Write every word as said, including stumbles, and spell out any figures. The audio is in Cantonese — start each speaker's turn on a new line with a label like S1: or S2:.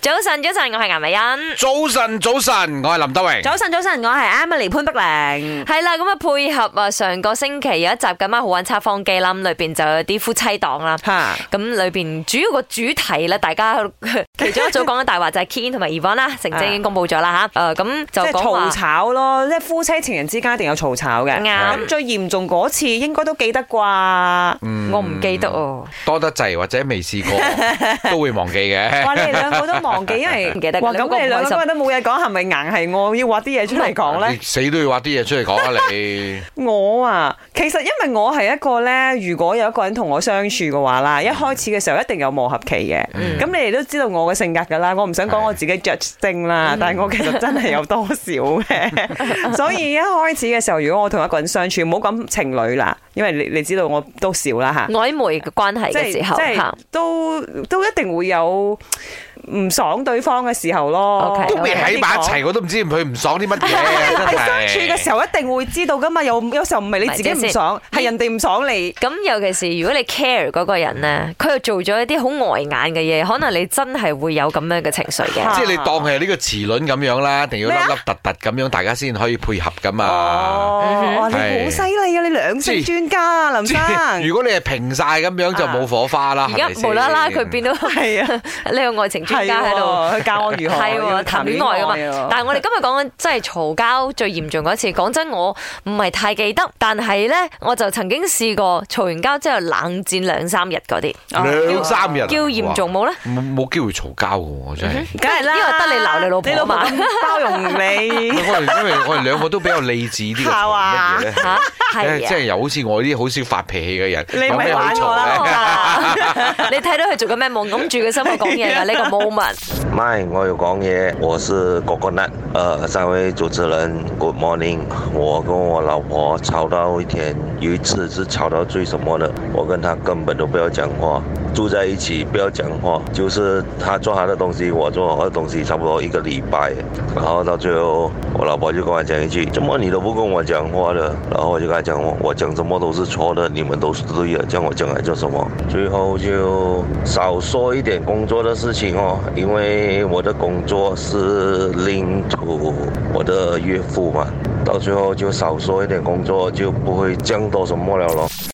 S1: 早晨，早晨，我係顏美欣。
S2: 早晨，早晨，我係林德榮。
S3: 早晨，早晨，我係 Emily 潘碧玲。
S1: 係啦，咁啊配合啊上個星期有一集咁啊好玩測謊機啦，咁裏邊就有啲夫妻檔啦。吓，咁裏邊主要個主題咧，大家其中一組講緊大話就係 Keen 同埋 Yvonne 啦，成績已經公布咗啦吓。誒，咁就講話
S3: 嘈吵咯，即係夫妻情人之間一定有嘈吵嘅。
S1: 啱。
S3: 咁最嚴重嗰次應該都記得啩？
S1: 我唔記得哦。
S2: 多得滯或者未試過都會忘記嘅。
S3: 哇！你哋兩個都忘記，因為
S1: 唔記得。
S3: 哇！咁你哋兩個都冇嘢講，係咪硬係我要挖啲嘢出嚟講咧？
S2: 死都要挖啲嘢出嚟講啊！你
S3: 我啊，其實因為我係一個咧，如果有一個人同我相處嘅話啦，一開始嘅時候一定有磨合期嘅。咁你哋都知道我嘅性格㗎啦，我唔想講我自己 judge 精啦，但係我其實真係有多少嘅。所以一開始嘅時候，如果我同一個人相處，唔好講情侶啦，因為你你知道我都少啦嚇。
S1: 曖昧嘅關係嘅時候，
S3: 即係都都一定會有唔爽對方嘅時候咯。
S2: 都未喺埋一齊，我都唔知佢唔爽啲乜嘢。
S3: 喺相處嘅時候一定會知道噶嘛，有有時候唔係你自己唔爽，係人哋唔爽你。
S1: 咁尤其是如果你 care 嗰個人咧，佢又做咗一啲好礙眼嘅嘢，可能你真係會有咁樣嘅情緒嘅。
S2: 即係你當係呢個齒輪咁樣啦，一定要粒粒突突咁樣，大家先可以配合噶嘛。
S3: 哦，你好犀利啊！你兩性專家啊，林生。
S2: 如果你係平晒咁樣就冇火花啦。
S1: 而家無啦啦佢變到係啊，呢個愛情專家喺度，
S3: 去教我如何
S1: 係喎談戀愛噶嘛。但係我哋今日講緊真係嘈交最嚴重嗰一次，講真我唔係太記得，但係咧我就曾經試過嘈完交之後冷戰兩三日嗰啲，
S2: 兩三日
S1: 叫嚴重冇咧？
S2: 冇冇機會嘈交嘅我真係，
S3: 梗係啦，
S1: 因為得你鬧你老婆，
S3: 你老婆咁包容你。
S2: 我哋因為我哋兩個都比較理智啲嘅，
S3: 係嘛？
S1: 嚇係
S2: 即係又好似我呢啲好少發脾氣嘅人，
S3: 你咪玩我啦！
S1: 你睇到佢做緊咩夢，揞住個心去講嘢㗎呢個 moment。
S4: 咪，我有講嘢，我是哥哥男。呃，三位主持人 ，Good morning。我跟我老婆吵到一天，有一次是吵到最什麼的，我跟她根本都不要講話，住在一起不要講話，就是她做她的東西，我做我的東西，差不多一個禮拜，然後到最後，我老婆就跟我講一句：怎麼你都不跟我講話的？然後我就跟她講，我講什麼都是錯的，你們都是對的，叫我講來做什麼？最後就少說一點工作的事情哦，因為我的工作是領土我的岳父嘛，到最後就少說一點工作，就不會講多什麼了咯。